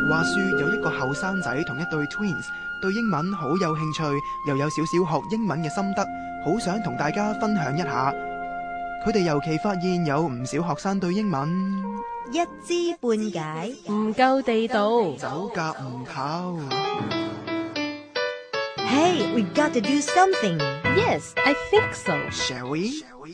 話說有一個後生仔同一對 twins 對英文好有興趣，又有少少學英文嘅心得，好想同大家分享一下。佢哋尤其發現有唔少學生對英文一知半解， 唔夠地道， 走夾唔透。 Hey, we've got to do something. Yes, I think so. Shall we?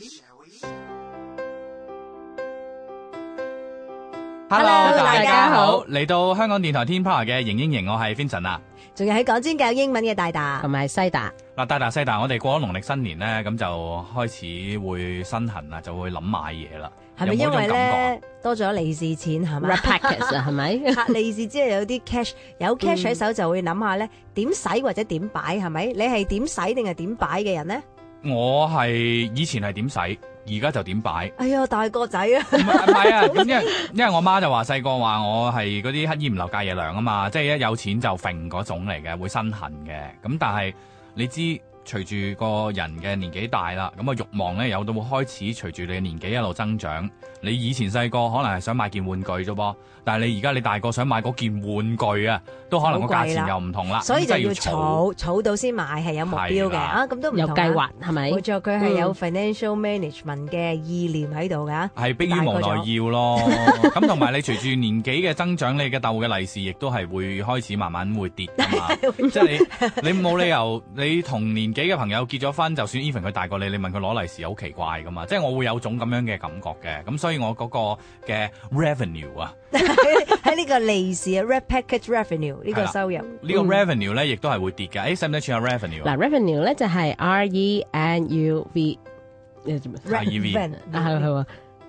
Hello， 大家好嚟到香港電台天 power 嘅型英型，我係 Vincent 啊。 仲有喺港專教英文嘅大大同埋西達。 嗱，大西大，我哋過咗農曆新年咧，咁就開始會身痕啦，就會諗買嘢啦。 係咪因為有冇種感覺咧多咗利是錢係咪 Red packets 啊，係咪？ 利是之後有啲 cash， 有 cash 喺手就會諗下咧點使或者點擺係咪？你係點使定係點擺嘅人咧？ 我係以前係點使，而家就點擺。 哎呀，大個仔啊！ 唔係啊，因為我媽就話細個話我係嗰啲乞衣唔留戒夜娘啊嘛，即係一有錢就揈嗰種嚟嘅，會身痕嘅。咁但係你知隨住個人嘅年紀大啦，咁啊慾望咧有到會開始隨住你嘅年紀一路增長。你以前細個可能係想買件玩具啫噃，但係你而家你大個想買嗰件玩具啊，都可能個價錢又唔同啦， 所以就要儲儲到先買，係有目標嘅啊！咁都唔同有計劃係咪？ 冇錯，佢係有 financial management 嘅意念喺度㗎。 係迫於無奈要咯。咁同埋你隨住年紀嘅增長，你嘅鬥嘅利是亦都係會開始慢慢會跌㗎嘛。即係你冇理由你同年紀嘅朋友結咗婚，就算 even 佢大過你，你問佢攞利是好奇怪㗎嘛。即係我會有種咁樣嘅感覺嘅。咁所以我嗰個嘅 revenue 啊， 喺呢個利是啊 red package revenue 呢個收入， 呢個 revenue 咧亦都係會跌嘅。使唔使串下 revenue 啊？ 嗱 revenue 咧就係 revenue 係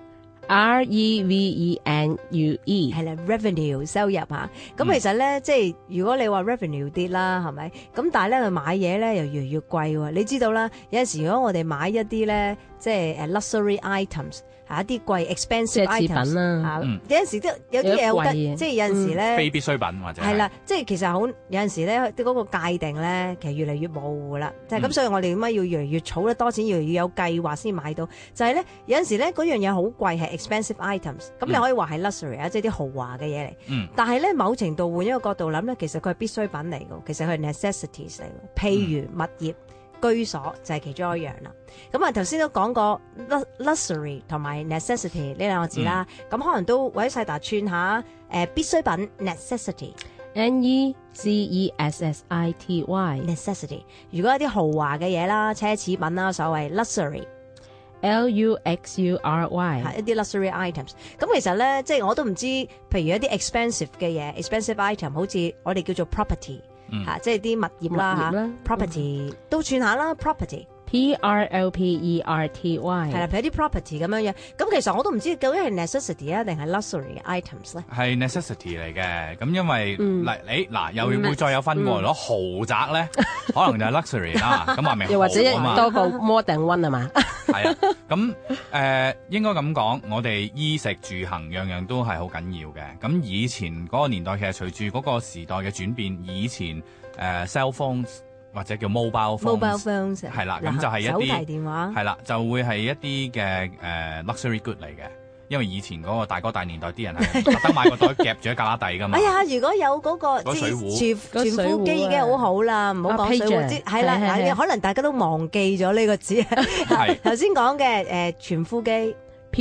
revenue 係啦 revenue 收入嚇。咁其實咧，即係如果你話 revenue 跌啦，係咪？咁但係咧，佢買嘢咧又越嚟越貴喎。你知道啦，有陣時如果我哋買一啲咧，即係luxury items。一啲貴 expensive items 啦，有陣時都有啲嘢好得，即係有陣時咧非必需品或者係啦，即係其實好有陣時咧，嗰個界定咧，其實越嚟越模糊啦。就係咁，所以我哋點解要越嚟越儲得多錢，越嚟越有計劃先買到？就係咧，有陣時咧嗰樣嘢好貴，係 expensive items，咁你可以話係 luxury 啊，即係啲豪華嘅嘢嚟。但係咧，某程度換一個角度諗咧，其實佢係必需品嚟㗎，其實佢係 necessities 嚟㗎。譬如物業。居所就係其中一樣啦。咁啊，頭先都講過 luxury 同埋 necessity 呢兩個字啦。咁可能都或者細達串下必需品 necessity。necessity。如果一啲豪華嘅嘢啦，奢侈品啦，所謂 luxury。 luxury 係一啲 luxury items。咁其實咧，即係我都唔知，譬如一啲 expensive 嘅嘢 expensive item， 好似我哋叫做 property。即係啲物業啦 property 都串下啦 property。 property 係啦，譬如啲 property 咁樣樣。咁其實我都唔知究竟係 necessity 啊定係 luxury 嘅 items 咧。 係 necessity 嚟嘅，咁因為嗱又會再有分喎。攞豪宅咧，可能就係 luxury 啦。咁話明又或者多個 more than one 係嘛？ 係啊，咁應該咁講，我哋衣食住行樣樣都係好緊要嘅。咁以前嗰個年代，其實隨住嗰個時代嘅轉變，以前cell phones。或者叫 mobile phones 係啦，咁就係一啲手提電話係啦，就會係一啲嘅luxury good 嚟嘅。因為以前嗰個大哥大年代啲人係特登買個袋夾住喺架底㗎嘛。哎呀，如果有嗰個水壺傳呼機已經好好啦，唔好講水壺，係啦，可能大家都忘記咗呢個字。頭先講嘅傳呼機。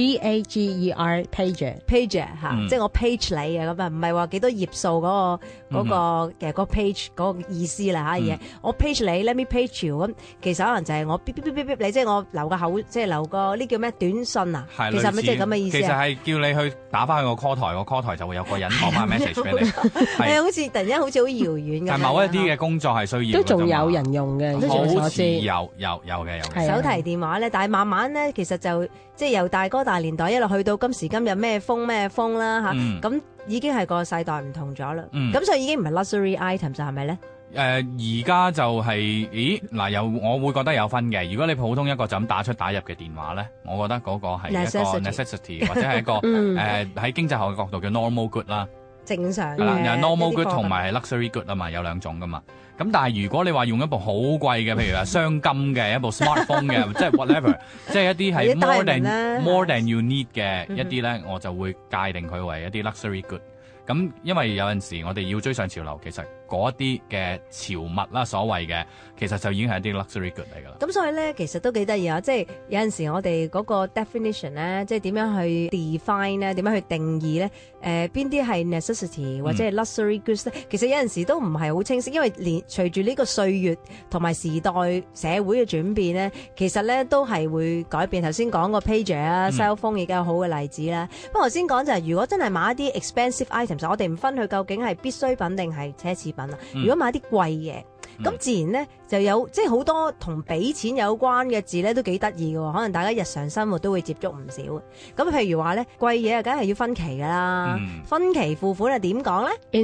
pager pager 嚇，即係我 page 你啊咁啊，唔係話幾多頁數嗰個嘅嗰 page 嗰個意思啦嚇嘢。我 page 你 ，let me page you 咁，其實可能就係我嗶嗶嗶嗶嗶你，即係我留個口，即係留個呢叫咩短信啊？其實係咪即係咁嘅意思？ 其實係叫你去打翻去個 call 台，個 call 台就會有個人放翻 message 俾你。 係好似突然間好似好遙遠咁。 但某一啲嘅工作係需要， 都仲有人用嘅， 好似有嘅。 手提電話咧，但係慢慢咧，其實就即係由大哥大年代一路去到今時今日咩風啦嚇，咁已經係個世代唔同咗啦。咁所以已經唔係 luxury items 係咪咧？ 而家就係，我會覺得有分嘅。如果你普通一個就咁打入嘅電話咧，我覺得嗰個係一個 necessity 或者係一個喺經濟學嘅角度叫 normal good 啦。 正常嘅。 係啦，有 normal good 同埋係 luxury good 啊嘛，有兩種噶嘛。咁但係如果你話用一部好貴嘅，譬如話鑲金嘅一部 smartphone 嘅，即係 whatever， 即係一啲係 more than you need 嘅一啲咧，我就會界定佢為一啲 luxury good。 咁因為有陣時我哋要追上潮流，其實嗰啲嘅潮物啦，所謂嘅其實就已經係一啲 luxury good 嚟㗎啦。 咁所以咧，其實都幾得意啊！即係有陣時我哋嗰個 definition 咧，即係點樣去 define 咧，點樣去定義咧？邊啲係 necessity 或者係 luxury goods 咧？其實有陣時都唔係好清晰，因為隨住呢個歲月同埋時代社會嘅轉變咧，其實咧都係會改變。頭先講個 pager 啊，cell phone 亦都有好嘅例子啦。不過頭先講就係，如果真係買一啲 expensive items，我哋唔分佢究竟係必需品定係奢侈品啊。如果買啲貴嘢，咁自然咧就有即係好多同俾錢有關嘅字咧，都幾得意嘅。可能大家日常生活都會接觸唔少。咁譬如話咧，貴嘢啊，梗係要分期㗎啦。分期付款係點講咧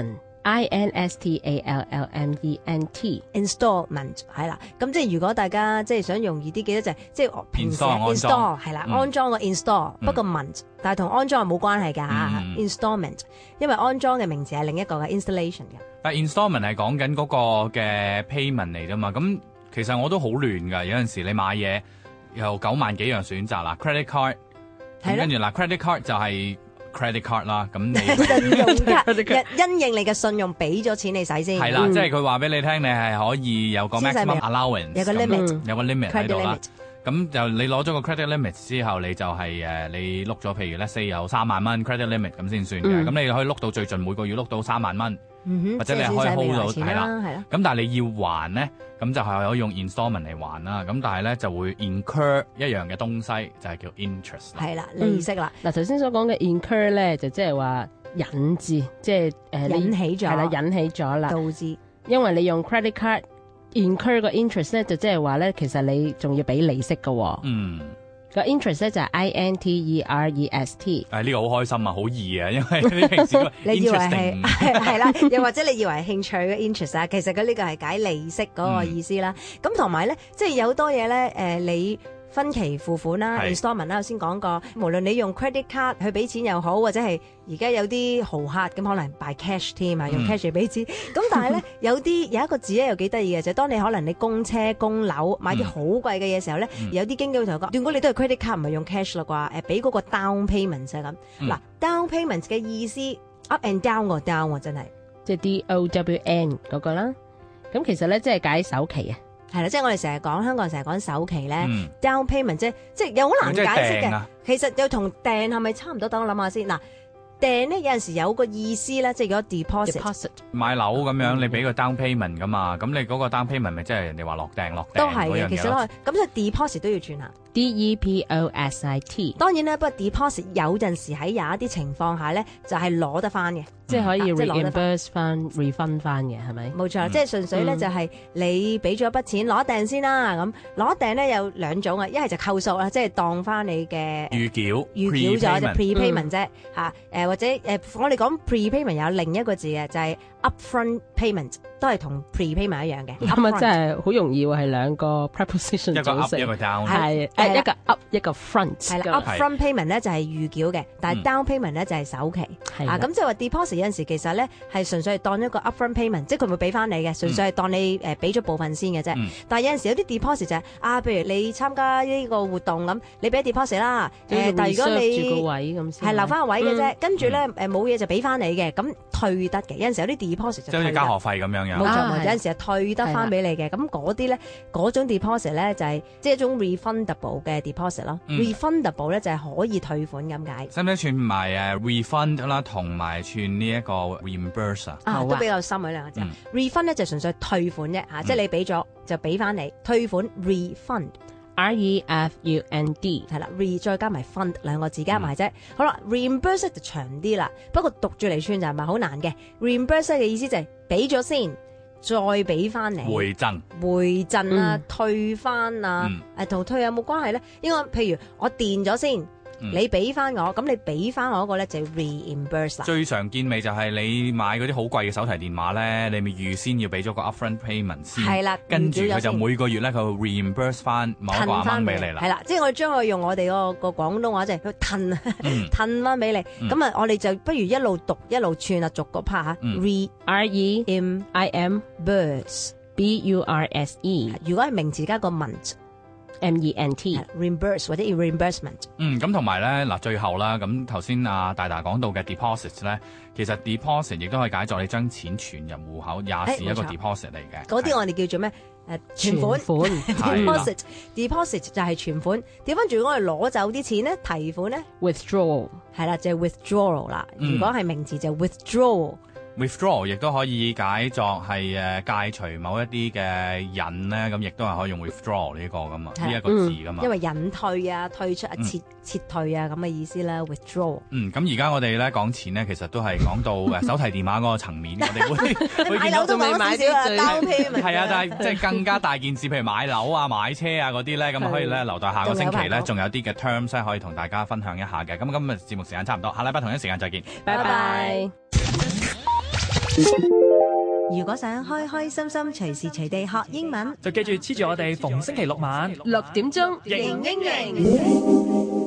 ？Installment。Installment 係啦。咁即係如果大家即係想容易啲記得就係即係平時 install 係啦，安裝個 install，不過 ment，但係同安裝係冇關係㗎嚇。installment， 因為安裝嘅名詞係另一個嘅 installation 嘅。 但 installment 係講緊嗰個嘅 payment 嚟啫嘛，咁其實我都好亂㗎。有陣時你買嘢有9萬幾樣選擇啦 ，credit card， 跟住嗱 credit card 就係 credit card 啦，咁你信用卡因應你嘅信用俾咗錢你使先， 係啦，即係佢話俾你聽，你係可以有個 maximum allowance， 有個 limit， 有個 limit 喺度啦。咁就你攞咗個 credit limit 之後，你就係你碌咗，譬如咧4有3萬蚊 credit limit 咁先算嘅。咁你可以碌到最盡，每個月碌到3萬蚊，或者你可以 hold 到係啦。咁但係你要還咧，咁就係可以用 installment 嚟還啦。咁但係咧就會 incur 一樣嘅東西，就係叫 interest。 係啦，利息啦。 嗱頭先所講嘅 incur 咧，就即係話引致，即係引起咗， 係啦，引起咗啦， 導致。因為你用 credit card。incur 個 interest 咧就即係話咧，其實你仲要俾利息㗎喎。個 interest 咧就係 interest。 呢個好開心啊，好易啊，因為你平時你以為係啦，又或者你以為係興趣嘅 interest 啊，其實佢呢個係解利息嗰個意思啦。咁同埋咧，即係有好多嘢咧，你分期付款啦 ，installment 啦，我先講過。無論你用 credit card 去俾錢又好，或者係而家有啲豪客咁，可能 by cash 添啊，用 cash 嚟俾錢。咁但係咧，有一個字咧又幾得意嘅，就係當你可能你供車供樓買啲好貴嘅嘢時候咧，有啲經紀會同我講，如果你都係 credit card 唔係用 cash 啦啩，俾嗰個 down payment 就係咁。嗱，down payment 嘅意思 up and down 個 down 喎，真係即係 DOWN 嗰個啦。咁其實咧即係解首期啊。 係啦，即係我哋成日講香港人成日講首期咧，down payment 即係又好難解釋嘅。其實又同訂係咪差唔多？等我諗下先。嗱，訂咧有陣時有個意思咧，即係如果 deposit 買樓咁樣，你俾個 down payment 噶嘛，咁你嗰個 down payment 咪即係人哋話落訂都係嘅。其實咁所以 deposit 都要轉下。 deposit。 當然咧，不過 deposit 有陣時喺有一啲情況下咧，就係攞得翻嘅。 即係可以 reimburse 翻 refund 翻嘅，係咪？ 冇錯，即係純粹咧就係你俾咗一筆錢攞訂先啦。咁攞訂咧有兩種啊，一係就扣數啦，即係當翻你嘅預繳咗就 prepayment 啫嚇。或者我哋講 prepayment 有另一個字嘅，就係 upfront payment， 都係同 prepayment 一樣嘅。 咁啊，真係好容易喎，係兩個 preposition 組成，一個 up 一個 down， 係一個 up 一個 front。 係啦 ，upfront payment 咧就係預繳嘅，但係 down payment 咧就係首期。咁即係話 deposit 有陣時其實咧係純粹係當一個 upfront payment， 即係佢會俾翻你嘅，純粹係當你俾咗部分先嘅啫。但係有陣時有啲 deposit 就係譬如你參加呢個活動咁，你俾 deposit 啦。但係如果你住個位咁先係留翻個位嘅啫，跟住咧冇嘢就俾翻你嘅，咁退得嘅。有陣時有啲 deposit 就即係好似交學費咁樣。 冇錯，有陣時係退得翻俾你嘅。咁嗰啲咧嗰種 deposit 咧就係即係一種 refundable 嘅 deposit 咯。refundable 咧就係可以退款咁解。 使唔使串埋refund 啦，同埋串呢一個 reimburse 都比較深嗰兩個字。refund 咧就純粹退款啫嚇，即係你俾咗就俾翻你。退款 refund。 refund 係啦 ，re 再加埋 fund 兩個字加埋啫。好啦 ，reimburse 就長啲啦，不過讀住嚟串就係咪好難嘅？reimburse 嘅意思就係俾咗先，再俾翻你。 回贈啊，退翻啊，同退有冇關係咧？應該譬如我電咗先。你俾翻我，咁你俾翻我嗰個咧就 reimburse 啦。 最常見咪就係你買嗰啲好貴嘅手提電話咧，你咪預先要俾咗個 upfront payment 先。係啦，跟住佢就每個月咧佢會 reimburse 翻某一個amount俾你啦。 係啦，即係我將佢用我哋個廣東話即係佢褪翻俾你。咁我哋就不如一路讀一路串啊，逐個 part 嚇。reimburse。 burse。burse。 如果係名詞加個 ment。 ，reimburse 或者 reimbursement。 咁同埋咧嗱，最後啦，咁頭先大講到嘅 deposit 咧，其實 deposit 亦都可以解作你將錢存入戶口，也是一個 deposit 嚟嘅。 嗰啲我哋叫做咩？存款 deposit 就係存款。調翻轉我哋攞走啲錢咧，提款咧 withdrawal 係啦，就係 withdrawal 啦。如果係名詞就 withdrawal。withdraw 亦都可以解作係戒除某一啲嘅引咧，咁亦都係可以用 withdraw 呢個噶嘛，呢一個字噶嘛。 因為引退啊、退出啊、撤退啊咁嘅意思啦 ，withdraw。 咁而家我哋咧講錢咧，其實都係講到手提電話嗰個層面，我哋會見到都講少少啊，交批係啊，但係即係更加大件事，譬如買樓啊、買車啊嗰啲咧，咁可以咧留待下個星期咧，仲有啲嘅 terms 咧可以同大家分享一下嘅。咁今日節目時間差唔多，下禮拜同一時間再見， 拜拜。 如果想開開心心隨時隨地學英文， 就記住黐住我哋逢星期六晚 6點鐘， 型英型。